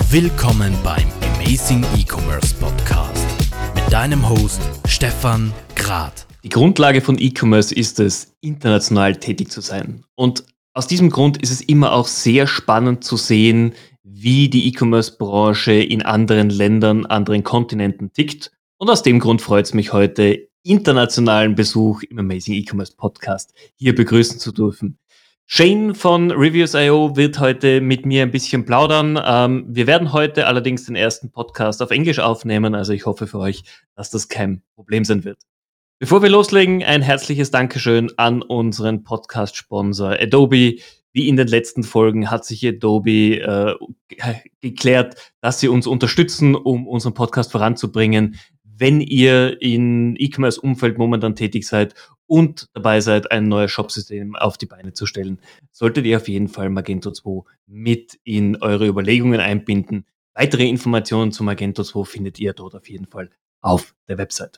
Willkommen beim Amazing E-Commerce Podcast mit deinem Host Stefan Grad. Die Grundlage von E-Commerce ist es, international tätig zu sein. Und aus diesem Grund ist es immer auch sehr spannend zu sehen, wie die E-Commerce-Branche in anderen Ländern, anderen Kontinenten tickt. Und aus dem Grund freut es mich heute, internationalen Besuch im Amazing E-Commerce Podcast hier begrüßen zu dürfen. Shane von Reviews.io wird heute mit mir ein bisschen plaudern. Wir werden heute allerdings den ersten Podcast auf Englisch aufnehmen, also ich hoffe für euch, dass das kein Problem sein wird. Bevor wir loslegen, ein herzliches Dankeschön an unseren Podcast-Sponsor Adobe. Wie in den letzten Folgen hat sich Adobe geklärt, dass sie uns unterstützen, um unseren Podcast voranzubringen. Wenn ihr im E-Commerce-Umfeld momentan tätig seid und dabei seid, ein neues Shopsystem auf die Beine zu stellen, solltet ihr auf jeden Fall Magento 2 mit in eure Überlegungen einbinden. Weitere Informationen zu Magento 2 findet ihr dort auf jeden Fall auf der Website.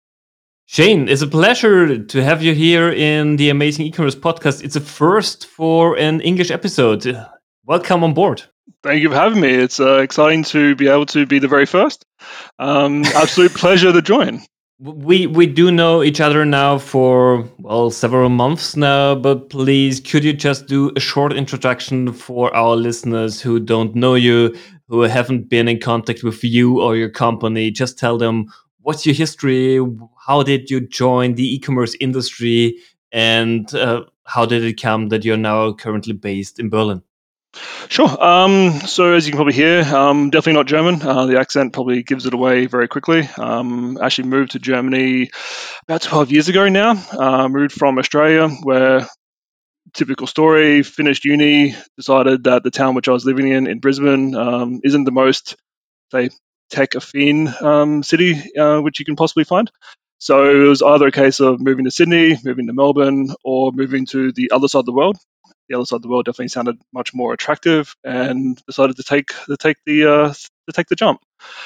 Shane, it's a pleasure to have you here in the Amazing E-Commerce Podcast. It's a first for an English episode. Welcome on board. Thank you for having me. It's exciting to be able to be the very first. Absolute pleasure to join. We do know each other now for, several months now, but please, could you just do a short introduction for our listeners who don't know you, who haven't been in contact with you or your company? Just tell them, what's your history? How did you join the e-commerce industry? And how did it come that you're now currently based in Berlin? Sure. So as you can probably hear, definitely not German. The accent probably gives it away very quickly. Actually moved to Germany about 12 years ago now. Moved from Australia, where typical story, finished uni, decided that the town which I was living in Brisbane, isn't the most, say, tech-affine city which you can possibly find. So it was either a case of moving to Sydney, moving to Melbourne, or moving to the other side of the world. The other side of the world definitely sounded much more attractive, and decided to take the jump.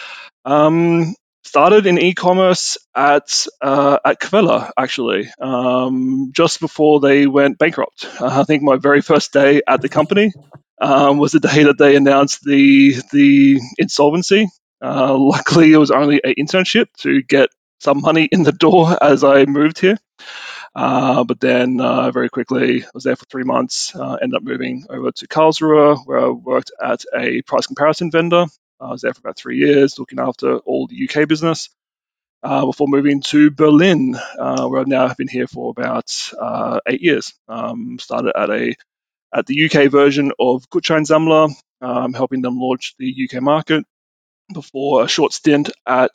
Started in e-commerce at Quelle, actually, just before they went bankrupt. I think my very first day at the company was the day that they announced the insolvency. Luckily, it was only an internship to get some money in the door as I moved here. But then very quickly, I was there for 3 months, ended up moving over to Karlsruhe, where I worked at a price comparison vendor. I was there for about 3 years, looking after all the UK business, before moving to Berlin, where I now have been here for about 8 years. Started at the UK version of Gutscheinsammler, helping them launch the UK market, before a short stint at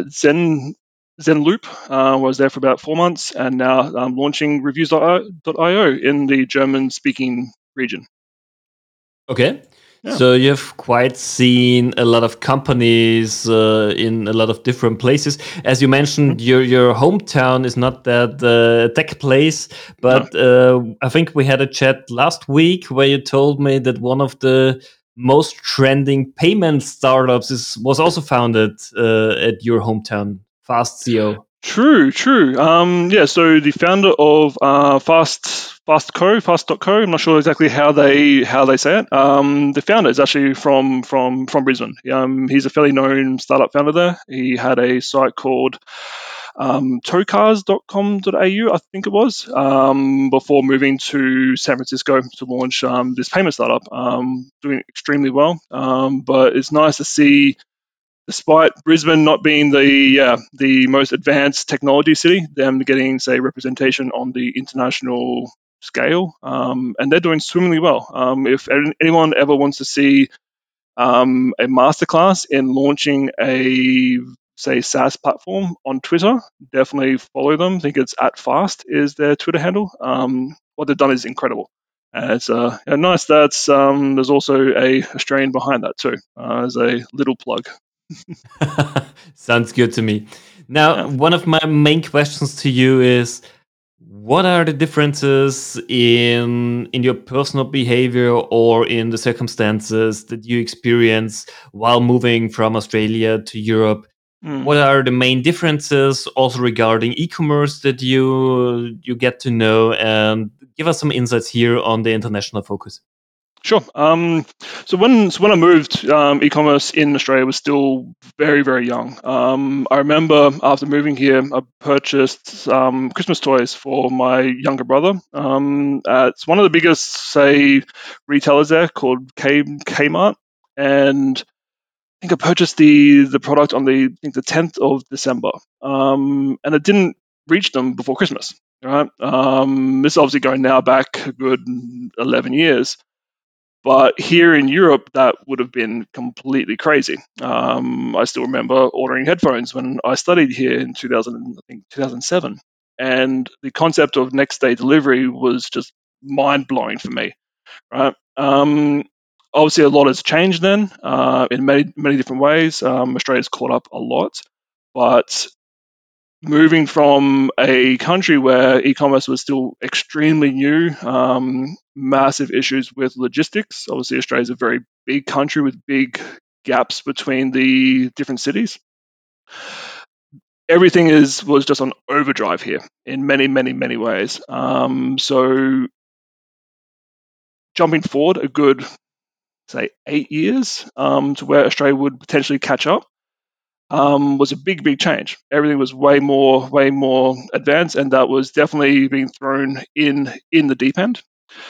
Zenloop, where I was there for about 4 months, and now I'm launching Reviews.io in the German-speaking region. Okay. Yeah. So you've quite seen a lot of companies in a lot of different places. As you mentioned, your hometown is not that tech place, but I think we had a chat last week where you told me that one of the most trending payment startups was also founded at your hometown, FastCO. True. So the founder of Fast.co, I'm not sure exactly how they say it. The founder is actually from Brisbane. He's a fairly known startup founder there. He had a site called tocars.com.au, I think it was, before moving to San Francisco to launch this payment startup. Doing extremely well. But it's nice to see, despite Brisbane not being the most advanced technology city, them getting, say, representation on the international scale, and they're doing swimmingly well. If anyone ever wants to see a masterclass in launching a, say, SaaS platform on Twitter, definitely follow them. I think it's @fast is their Twitter handle. What they've done is incredible. And it's nice that there's also a Australian behind that too, as a little plug. Sounds good to me. Now, one of my main questions to you is, what are the differences in your personal behavior or in the circumstances that you experience while moving from Australia to Europe? What are the main differences also regarding e-commerce that you get to know, and give us some insights here on the international focus? Sure. So when I moved, e-commerce in Australia was still very, very young. I remember after moving here, I purchased Christmas toys for my younger brother. It's one of the biggest, say, retailers there called Kmart, and I think I purchased the product on the 10th of December, and it didn't reach them before Christmas. Right, this is obviously going now back a good 11 years. But here in Europe, that would have been completely crazy. I still remember ordering headphones when I studied here in 2000, I think 2007, and the concept of next day delivery was just mind blowing for me. Right. Obviously, a lot has changed then in many different ways. Australia's caught up a lot, but moving from a country where e-commerce was still extremely new, massive issues with logistics. Obviously, Australia is a very big country with big gaps between the different cities. Everything was just on overdrive here in many ways. So jumping forward a good, say, 8 years to where Australia would potentially catch up was a big change. Everything was way more advanced, and that was definitely being thrown in the deep end.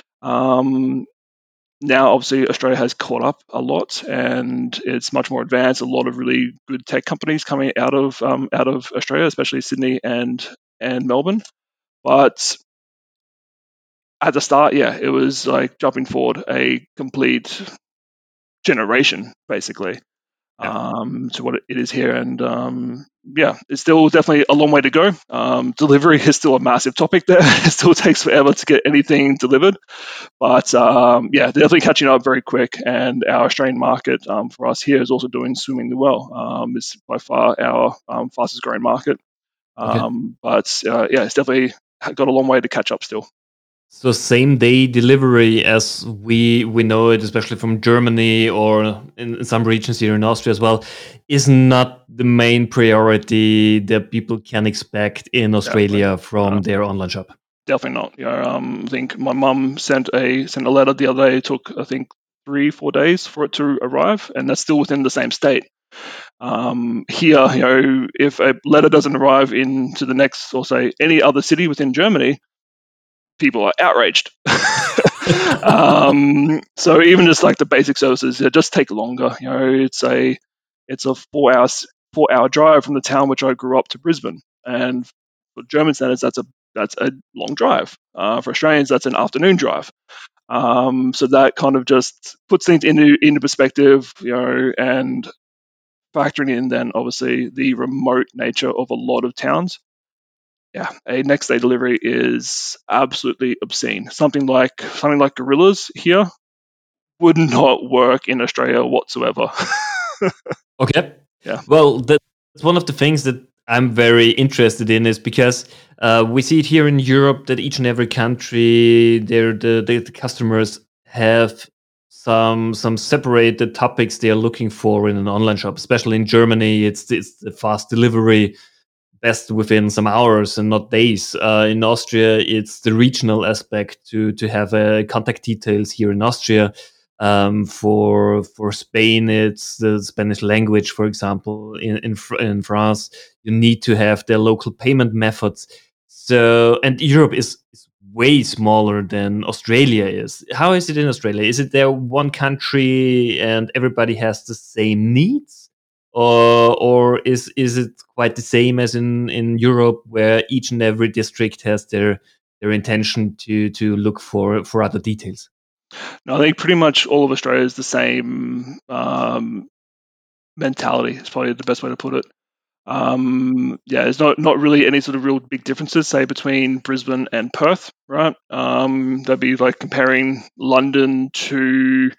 Now, obviously, Australia has caught up a lot, and it's much more advanced. A lot of really good tech companies coming out of Australia, especially Sydney and Melbourne. But at the start, yeah, it was like jumping forward a complete generation, basically. To what it is here. And yeah, it's still definitely a long way to go. Delivery is still a massive topic there. It still takes forever to get anything delivered. But yeah, they're definitely catching up very quick. And our Australian market for us here is also doing swimmingly well. It's by far our fastest growing market. Okay. But yeah, it's definitely got a long way to catch up still. So same day delivery as we know it, especially from Germany or in some regions here in Austria as well, is not the main priority that people can expect in Definitely. Australia from their online shop. Definitely not. I think my mum sent a letter the other day. It took, I think, 3-4 days for it to arrive, and that's still within the same state. Here, if a letter doesn't arrive into the next, or say any other city within Germany, people are outraged. So even just like the basic services, it just take longer. It's a 4 hour drive from the town which I grew up to Brisbane, and for German standards, that's a long drive. For Australians, that's an afternoon drive. So that kind of just puts things into perspective, and factoring in then obviously the remote nature of a lot of towns. Yeah, a next day delivery is absolutely obscene. Something like Gorillas here would not work in Australia whatsoever. Okay. Yeah. Well, that's one of the things that I'm very interested in is because we see it here in Europe that each and every country, the customers have some separated topics they are looking for in an online shop. Especially in Germany, it's the fast delivery, best within some hours and not days. In Austria, it's the regional aspect to have contact details here in Austria. For Spain, it's the Spanish language, for example. In France, you need to have their local payment methods. So, and Europe is way smaller than Australia is. How is it in Australia? Is it there one country and everybody has the same needs? Or is it quite the same as in Europe, where each and every district has their intention to look for other details? No, I think pretty much all of Australia is the same mentality. Is probably the best way to put it. Yeah, there's not really any sort of real big differences, say, between Brisbane and Perth, right? That'd be like comparing London to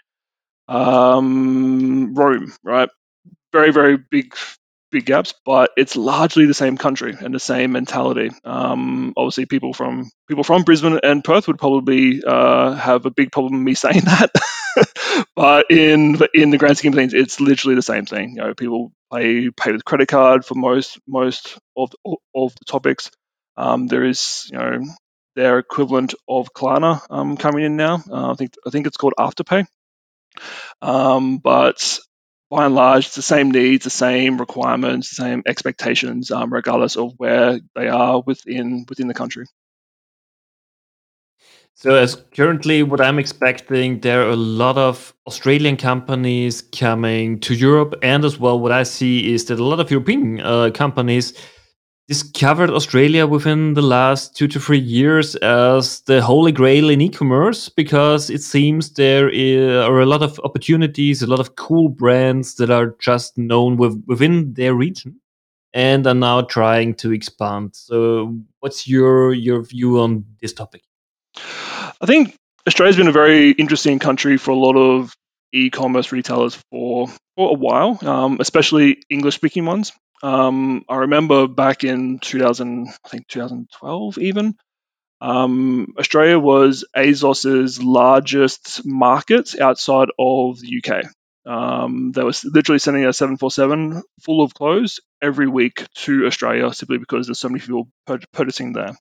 Rome, right? Very big gaps, but it's largely the same country and the same mentality. Obviously, people from Brisbane and Perth would probably have a big problem with me saying that. But in the grand scheme of things, it's literally the same thing. People pay with credit card for most of the topics. There is their equivalent of Klarna coming in now. I think it's called Afterpay. But by and large, it's the same needs, the same requirements, the same expectations, regardless of where they are within the country. So as currently what I'm expecting, there are a lot of Australian companies coming to Europe, and as well what I see is that a lot of European companies discovered Australia within the last 2 to 3 years as the holy grail in e-commerce, because it seems are a lot of opportunities, a lot of cool brands that are just known within their region and are now trying to expand. So what's your view on this topic? I think Australia's been a very interesting country for a lot of e-commerce retailers for a while, especially English-speaking ones. I remember back in 2012 even, Australia was ASOS's largest market outside of the UK. They were literally sending a 747 full of clothes every week to Australia simply because there's so many people purchasing there.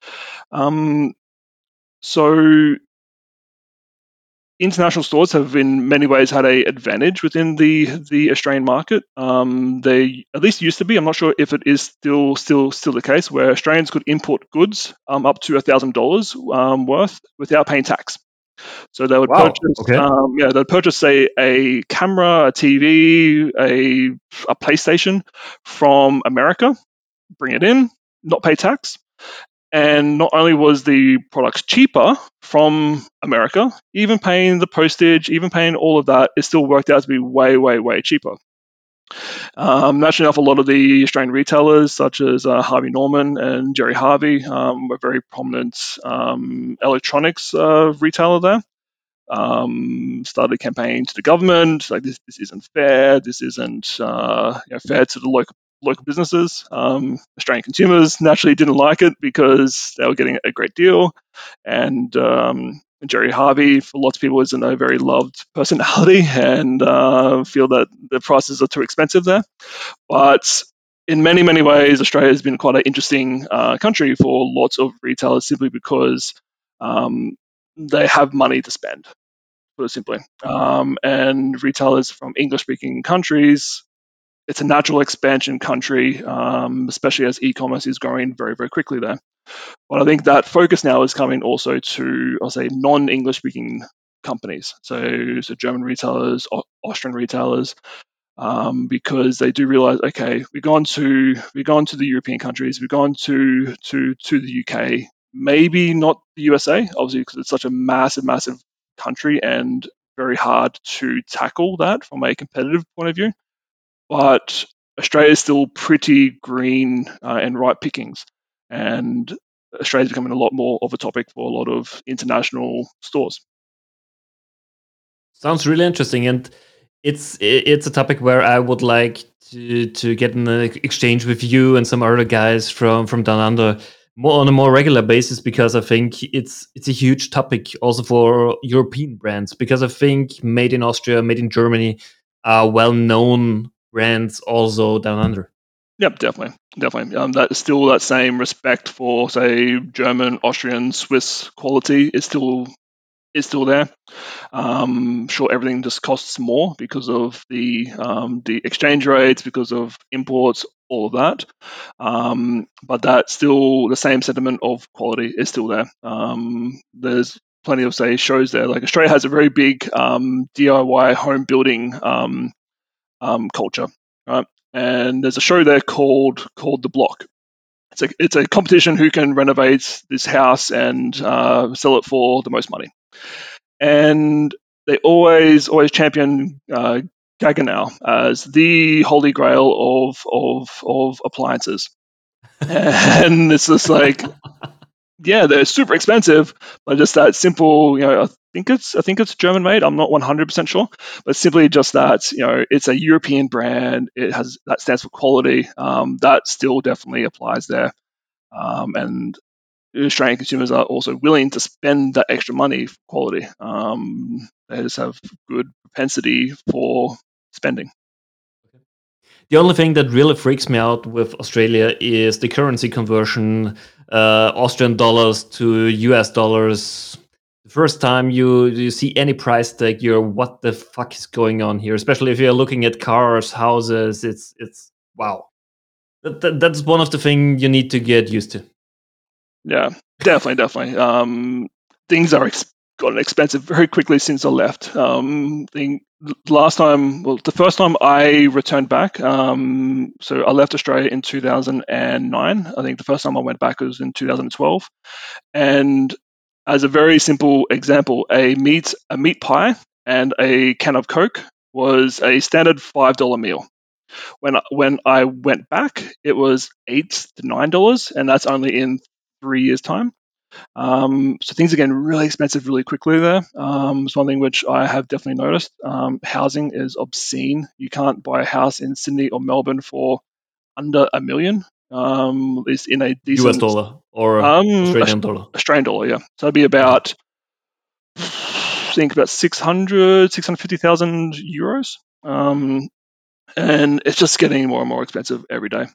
So international stores have in many ways had an advantage within the Australian market. They at least used to be. I'm not sure if it is still the case, where Australians could import goods up to $1,000 worth without paying tax. So they would purchase, they'd purchase, say, a camera, a TV, a PlayStation from America, bring it in, not pay tax. And not only was the product cheaper from America, even paying the postage, even paying all of that, it still worked out to be way, way, way cheaper. Naturally enough, a lot of the Australian retailers, such as Harvey Norman and Jerry Harvey, were very prominent electronics retailer there. Started a campaign to the government, like this isn't fair, this isn't fair to the local businesses. Australian consumers naturally didn't like it because they were getting a great deal, and Jerry Harvey, for lots of people, isn't a very loved personality, and feel that the prices are too expensive there. But in many, many ways, Australia has been quite an interesting country for lots of retailers simply because they have money to spend, put it simply. And retailers from English-speaking countries, it's a natural expansion country, especially as e-commerce is growing very, very quickly there. But I think that focus now is coming also to, I'll say, non-English speaking companies. So German retailers, Austrian retailers, because they do realize, okay, we've gone to the European countries, we've gone to the UK, maybe not the USA, obviously, because it's such a massive, massive country and very hard to tackle that from a competitive point of view. But Australia is still pretty green and ripe pickings, and Australia is becoming a lot more of a topic for a lot of international stores. Sounds really interesting, and it's a topic where I would like to get in an exchange with you and some other guys from Down Under more on a more regular basis, because I think it's a huge topic also for European brands, because I think made in Austria, made in Germany are well-known brands also down under. Yep, definitely. That is still that same respect for, say, German, Austrian, Swiss quality is still there. Sure, everything just costs more because of the exchange rates, because of imports, all of that. But that still, the same sentiment of quality is still there. There's plenty of, say, shows there. Like Australia has a very big DIY home building culture, right? And there's a show there called The Block. It's a competition who can renovate this house and sell it for the most money. And they always champion Gaggenau as the holy grail of appliances. And it's just like, yeah, they're super expensive, but just that simple, I think it's German made. I'm not 100% sure, but simply just that, it's a European brand. That stands for quality. That still definitely applies there. And Australian consumers are also willing to spend that extra money for quality. They just have good propensity for spending. The only thing that really freaks me out with Australia is the currency conversion, Austrian dollars to US dollars. first time you see any price tag, you're what the fuck is going on here? Especially if you're looking at cars, houses, it's wow. That's one of the things you need to get used to. Yeah, definitely. Things are gotten expensive very quickly since I left. The first time I returned back, so I left Australia in 2009. I think the first time I went back was in 2012. And as a very simple example, a meat pie and a can of Coke was a standard $5 meal. When I went back, it was $8 to $9, and that's only in 3 years' time. So things are getting really expensive really quickly there. It's one thing which I have definitely noticed. Housing is obscene. You can't buy a house in Sydney or Melbourne for under $1 million. At least in a decent US dollar or Australian dollar. Australian dollar, yeah. So it'd be about, I think about 650,000 euros. And it's just getting more and more expensive every day.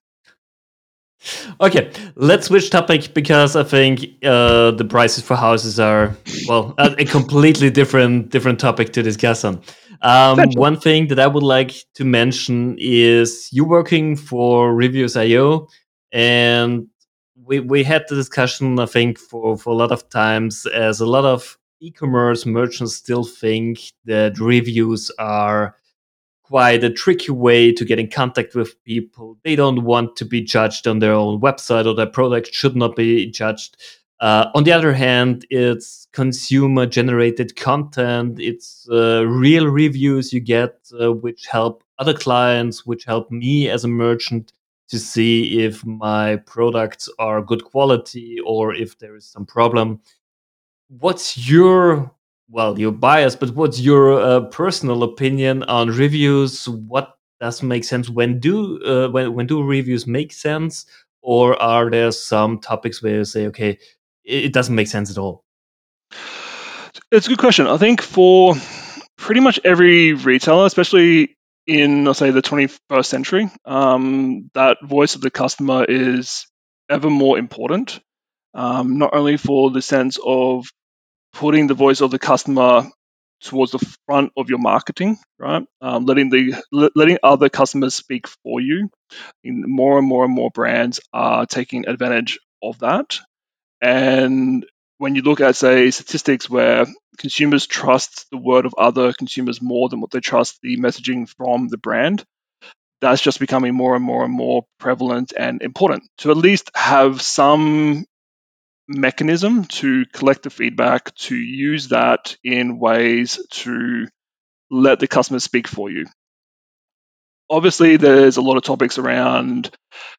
Okay, let's switch topic because I think the prices for houses are a completely different topic to discuss on. One thing that I would like to mention is you working for Reviews.io, and we had the discussion, I think, for a lot of times, as a lot of e-commerce merchants still think that reviews are quite a tricky way to get in contact with people. They don't want to be judged on their own website, or their product should not be judged. On the other hand, it's consumer generated content. It's real reviews you get, which help other clients, which help me as a merchant to see if my products are good quality or if there is some problem. What's your you're biased, but what's your personal opinion on reviews? What does make sense? When do reviews make sense, or are there some topics where you say, okay, it doesn't make sense at all? It's a good question. I think for pretty much every retailer, especially in, let's say, the 21st century, that voice of the customer is ever more important. Not only for the sense of putting the voice of the customer towards the front of your marketing, right? Letting other customers speak for you. More and more brands are taking advantage of that. And when you look at, say, statistics where consumers trust the word of other consumers more than what they trust the messaging from the brand, that's just becoming more and more prevalent and important to at least have some mechanism to collect the feedback, to use that in ways to let the customer speak for you. Obviously, there's a lot of topics around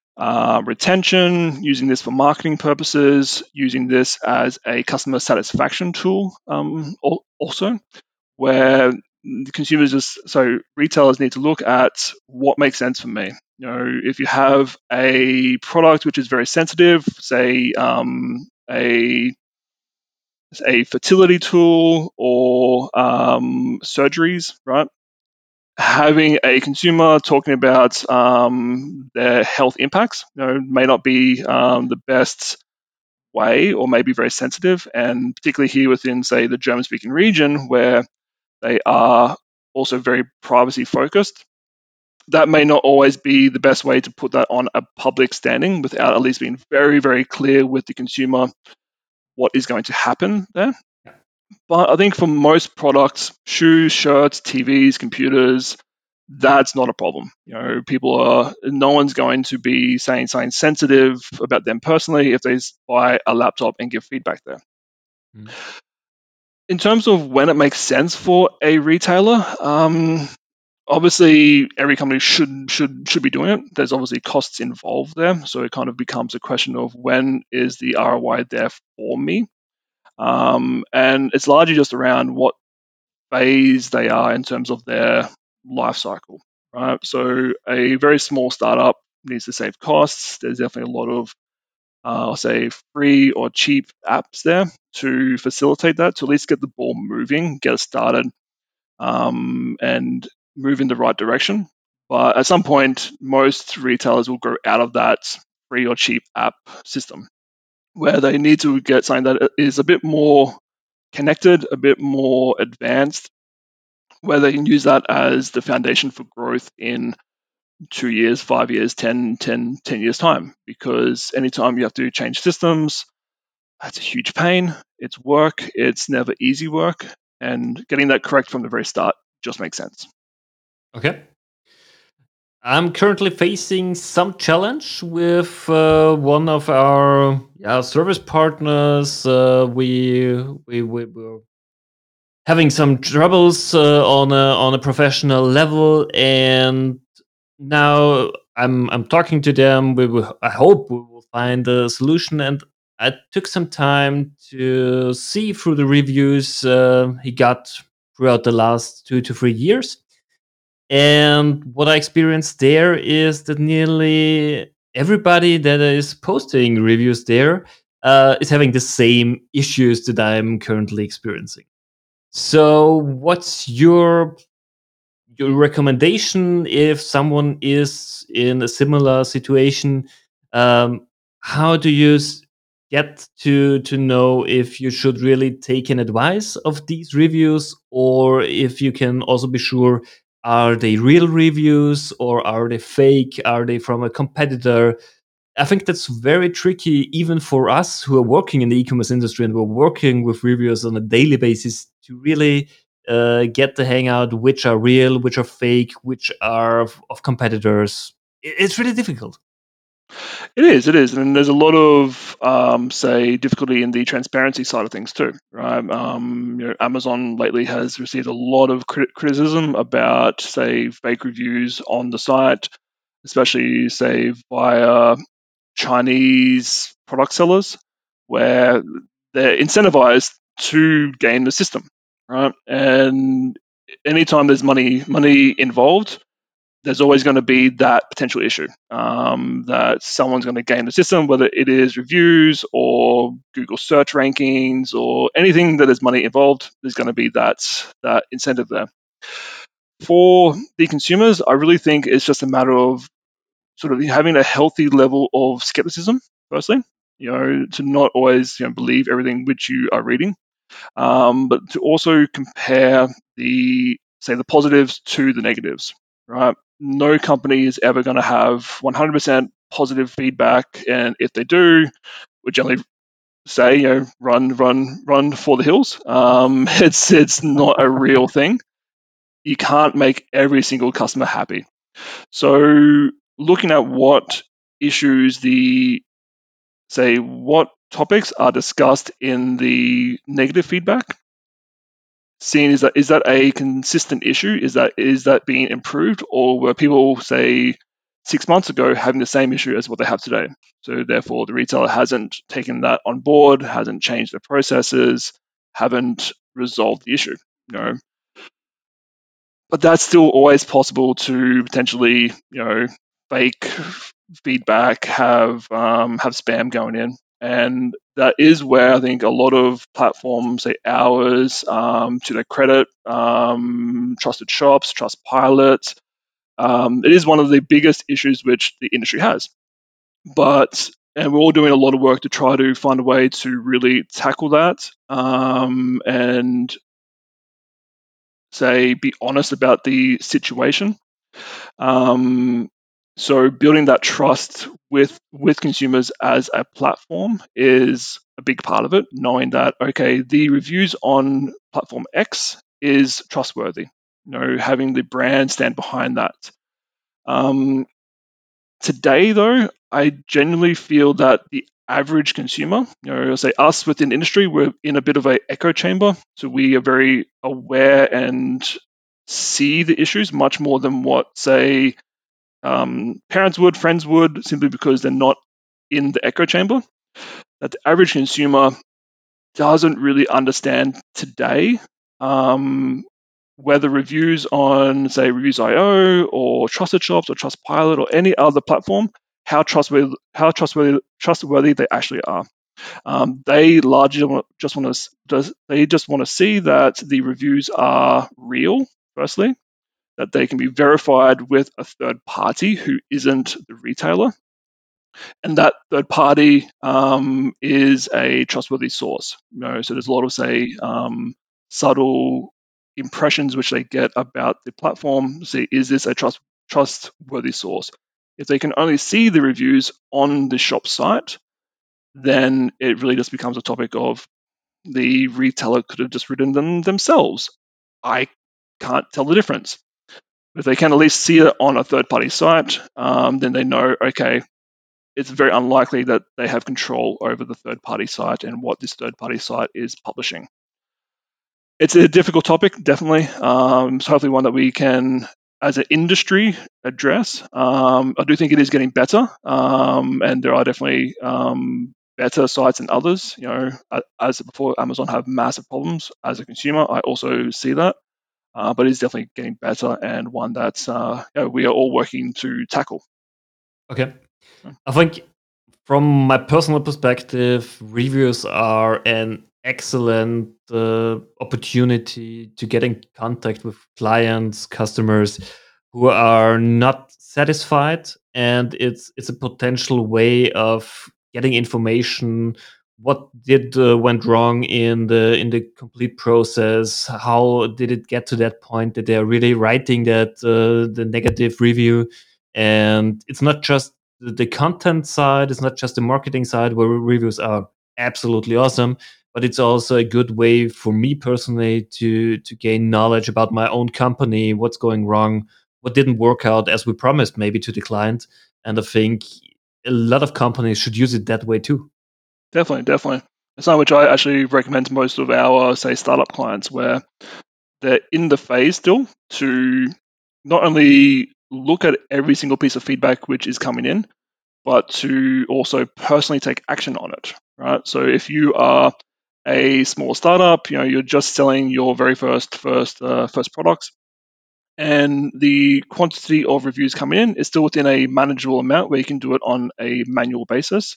retention, using this for marketing purposes, using this as a customer satisfaction tool also, where retailers need to look at what makes sense for me. If you have a product which is very sensitive, say a fertility tool or surgeries, right? Having a consumer talking about their health impacts, may not be the best way, or may be very sensitive, and particularly here within, say, the German-speaking region, where they are also very privacy focused. That may not always be the best way to put that on a public standing without at least being very, very clear with the consumer what is going to happen there. But I think for most products, shoes, shirts, TVs, computers, that's not a problem. No one's going to be saying something sensitive about them personally if they buy a laptop and give feedback there. In terms of when it makes sense for a retailer, obviously every company should be doing it. There's obviously costs involved there, so it kind of becomes a question of when is the ROI there for me. And it's largely just around what phase they are in terms of their life cycle, right? So a very small startup needs to save costs. There's definitely a lot of, I'll say, free or cheap apps there to facilitate that, to at least get the ball moving, get it started, and move in the right direction. But at some point, most retailers will grow out of that free or cheap app system, where they need to get something that is a bit more connected, a bit more advanced, where they can use that as the foundation for growth in 2 years, 5 years, 10 years time. Because anytime you have to change systems, that's a huge pain. It's work. It's never easy work. And getting that correct from the very start just makes sense. Okay. I'm currently facing some challenge with one of our service partners. We're having some troubles on a professional level, and now I'm talking to them. I hope we will find a solution, and I took some time to see through the reviews he got throughout the last 2 to 3 years. And what I experienced there is that nearly everybody that is posting reviews there is having the same issues that I'm currently experiencing. So, what's your recommendation if someone is in a similar situation? Um, how do you get to know if you should really take an advice of these reviews, or if you can also be sure, are they real reviews or are they fake? Are they from a competitor? I think that's very tricky, even for us who are working in the e-commerce industry and we're working with reviewers on a daily basis, to really get the hangout which are real, which are fake, which are of competitors. It's really difficult. It is, and there's a lot of say difficulty in the transparency side of things too, right? Amazon lately has received a lot of criticism about say fake reviews on the site, especially say via Chinese product sellers, where they're incentivized to game the system, right? And anytime there's money involved, there's always going to be that potential issue that someone's going to game the system, whether it is reviews or Google search rankings or anything that is money involved. There's going to be that incentive there. For the consumers, I really think it's just a matter of sort of having a healthy level of skepticism. Firstly, to not always believe everything which you are reading, but to also compare the positives to the negatives. Right? No company is ever going to have 100% positive feedback, and if they do, we generally say, run for the hills. It's not a real thing. You can't make every single customer happy. So looking at what issues what topics are discussed in the negative feedback, seeing is that a consistent issue? Is that being improved, or were people say 6 months ago having the same issue as what they have today? So therefore, the retailer hasn't taken that on board, hasn't changed their processes, haven't resolved the issue. But that's still always possible to potentially, fake feedback, have spam going in, and that is where I think a lot of platforms, say ours, to their credit, Trusted Shops, Trustpilot, it is one of the biggest issues which the industry has. And we're all doing a lot of work to try to find a way to really tackle that, and be honest about the situation. So building that trust with consumers as a platform is a big part of it, knowing that, okay, the reviews on platform X is trustworthy, having the brand stand behind that. Today, though, I genuinely feel that the average consumer, say us within the industry, we're in a bit of an echo chamber. So we are very aware and see the issues much more than what, say, parents would, friends would, simply because they're not in the echo chamber. That the average consumer doesn't really understand today whether reviews on, say, Reviews.io or Trusted Shops or Trustpilot or any other platform, how trustworthy they actually are. They largely just want to see that the reviews are real. Firstly, that they can be verified with a third party who isn't the retailer. and that third party is a trustworthy source. So there's a lot of, say, subtle impressions which they get about the platform. See, is this a trustworthy source? If they can only see the reviews on the shop site, then it really just becomes a topic of the retailer could have just written them themselves. I can't tell the difference. If they can at least see it on a third-party site, then they know, okay, it's very unlikely that they have control over the third-party site and what this third-party site is publishing. It's a difficult topic, definitely. So hopefully one that we can, as an industry, address. I do think it is getting better, and there are definitely better sites than others. As before, Amazon have massive problems as a consumer. I also see that, but it's definitely getting better and one that we are all working to tackle. Okay. I think from my personal perspective, reviews are an excellent opportunity to get in contact with clients, customers who are not satisfied, and it's a potential way of getting information. What did went wrong in the complete process? How did it get to that point that they're really writing that the negative review? And it's not just the content side, it's not just the marketing side where reviews are absolutely awesome, but it's also a good way for me personally to gain knowledge about my own company, what's going wrong, what didn't work out as we promised maybe to the client. And I think a lot of companies should use it that way too. Definitely. It's something which I actually recommend to most of our, say, startup clients, where they're in the phase still to not only look at every single piece of feedback which is coming in, but to also personally take action on it, right? So if you are a small startup, you're just selling your very first products, and the quantity of reviews coming in is still within a manageable amount where you can do it on a manual basis.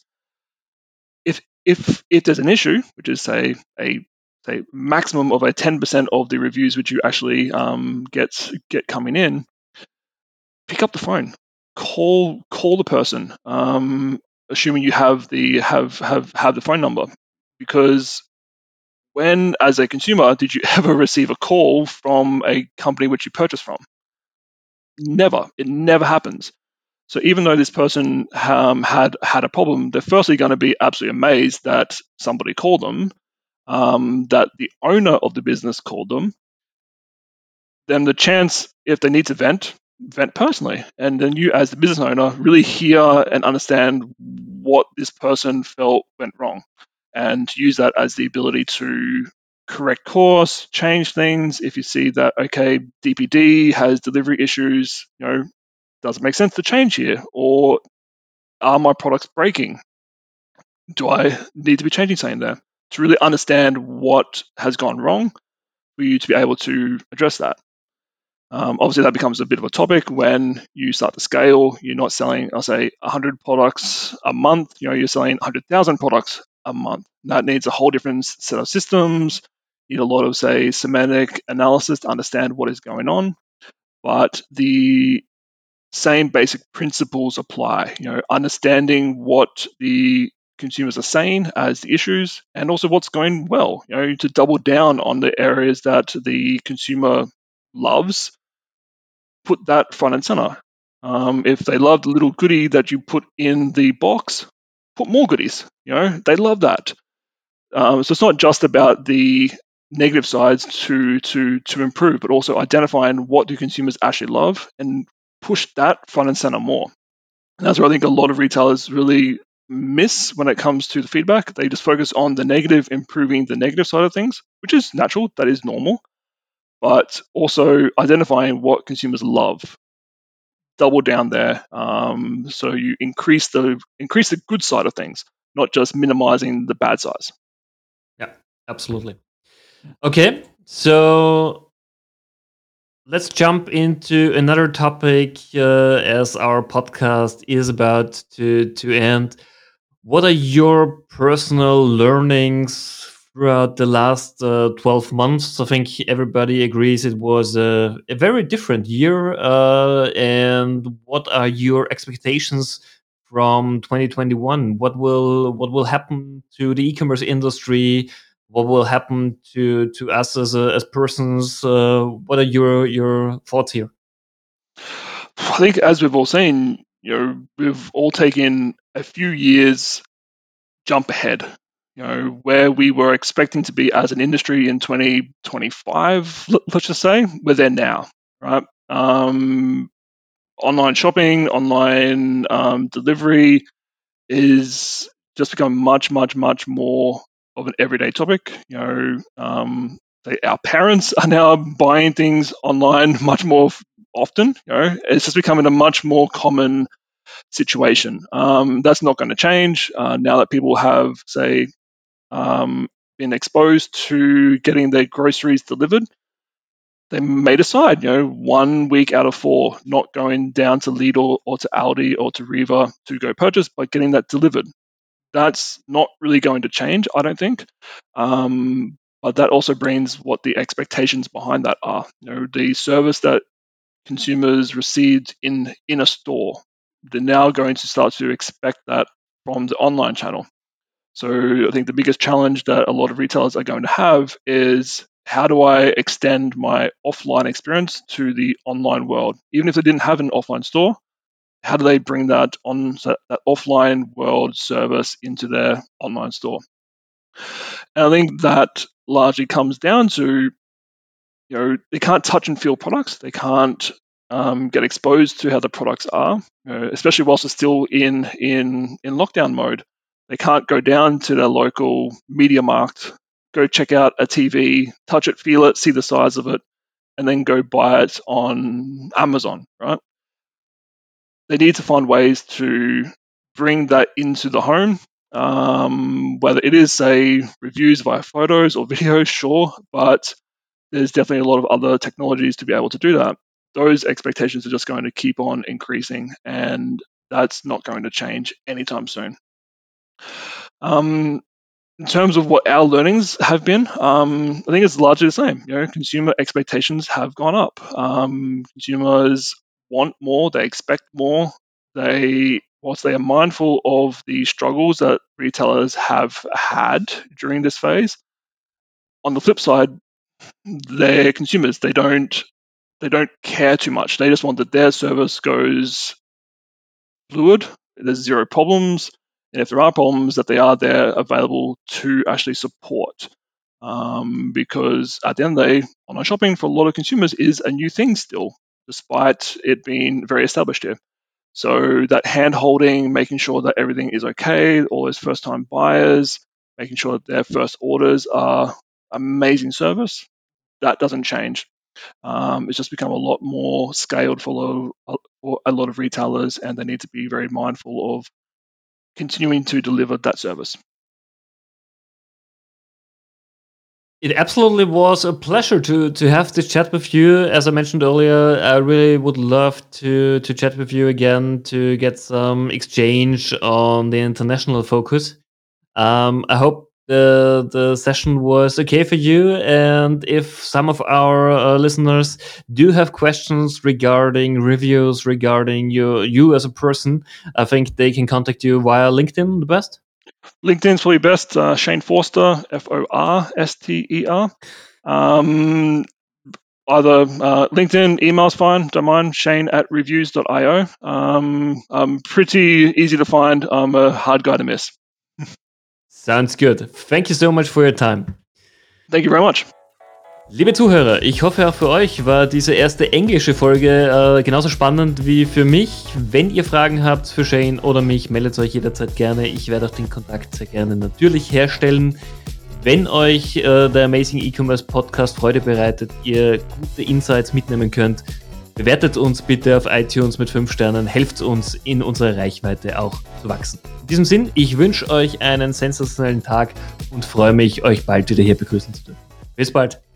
If there's an issue, which is say maximum of a 10% of the reviews which you actually get coming in, pick up the phone, call the person, assuming you have the phone number, because when, as a consumer, did you ever receive a call from a company which you purchased from? Never. It never happens. So even though this person had a problem, they're firstly going to be absolutely amazed that somebody called them, that the owner of the business called them. Then the chance, if they need to vent personally, and then you, as the business owner, really hear and understand what this person felt went wrong, and use that as the ability to correct course, change things. If you see that, okay, DPD has delivery issues, does it make sense to change here? Or are my products breaking? Do I need to be changing something there? To really understand what has gone wrong for you to be able to address that. Obviously, that becomes a bit of a topic when you start to scale. You're not selling, I'll say, 100 products a month. You're selling 100,000 products a month. That needs a whole different set of systems. You need a lot of, say, semantic analysis to understand what is going on. But the same basic principles apply. Understanding what the consumers are saying as the issues, and also what's going well. To double down on the areas that the consumer loves, put that front and center. If they love the little goodie that you put in the box, put more goodies. They love that. So it's not just about the negative sides to improve, but also identifying what do consumers actually love and push that front and center more. And that's where I think a lot of retailers really miss when it comes to the feedback. They just focus on the negative, improving the negative side of things, which is natural, that is normal, but also identifying what consumers love. Double down there, so you increase the good side of things, not just minimizing the bad sides. Yeah, absolutely. Okay, so let's jump into another topic as our podcast is about to end. What are your personal learnings throughout the last 12 months? I think everybody agrees it was a very different year. And what are your expectations from 2021? What will happen to the e-commerce industry? What will happen to us as persons? What are your thoughts here? I think, as we've all seen, we've all taken a few years jump ahead. Where we were expecting to be as an industry in 2025, let's just say, we're there now, right? Online shopping, online delivery is just become much, much, much more of an everyday topic. Our parents are now buying things online much more often. It's just becoming a much more common situation. That's not going to change now that people have, say, been exposed to getting their groceries delivered. They may decide, 1 week out of 4, not going down to Lidl or to Aldi or to Riva to go purchase, but getting that delivered. That's not really going to change, I don't think. But that also brings what the expectations behind that are. The service that consumers received in a store, they're now going to start to expect that from the online channel. So I think the biggest challenge that a lot of retailers are going to have is, how do I extend my offline experience to the online world? Even if they didn't have an offline store, how do they bring that offline world service into their online store? And I think that largely comes down to, they can't touch and feel products. They can't get exposed to how the products are, especially whilst they're still in lockdown mode. They can't go down to their local media market, go check out a TV, touch it, feel it, see the size of it, and then go buy it on Amazon, right? They need to find ways to bring that into the home, whether it is, say, reviews via photos or videos, sure, but there's definitely a lot of other technologies to be able to do that. Those expectations are just going to keep on increasing, and that's not going to change anytime soon. In terms of what our learnings have been, I think it's largely the same. Consumer expectations have gone up. Consumers want more, they expect more. Whilst they are mindful of the struggles that retailers have had during this phase, on the flip side, they're consumers. They don't care too much. They just want that their service goes fluid. There's zero problems. And if there are problems, that they are there available to actually support. Because at the end of the day, online shopping for a lot of consumers is a new thing still, despite it being very established here. So that hand-holding, making sure that everything is okay, all those first-time buyers, making sure that their first orders are amazing service, that doesn't change. It's just become a lot more scaled for a lot of retailers, and they need to be very mindful of continuing to deliver that service. It absolutely was a pleasure to have this chat with you. As I mentioned earlier, I really would love to chat with you again to get some exchange on the international focus. I hope the session was okay for you, and if some of our listeners do have questions regarding reviews, regarding you as a person, I think they can contact you via LinkedIn the best. LinkedIn's probably best. Shane Forster, Forster. Either LinkedIn, email's fine, don't mind. Shane@reviews.io. I'm pretty easy to find. I'm a hard guy to miss. Sounds good. Thank you so much for your time. Thank you very much. Liebe Zuhörer, ich hoffe auch für euch war diese erste englische Folge genauso spannend wie für mich. Wenn ihr Fragen habt für Shane oder mich, meldet euch jederzeit gerne. Ich werde auch den Kontakt sehr gerne natürlich herstellen. Wenn euch der Amazing E-Commerce Podcast Freude bereitet, ihr gute Insights mitnehmen könnt, bewertet uns bitte auf iTunes mit 5 Sternen, helft uns in unserer Reichweite auch zu wachsen. In diesem Sinn, ich wünsche euch einen sensationellen Tag und freue mich, euch bald wieder hier begrüßen zu dürfen. Bis bald!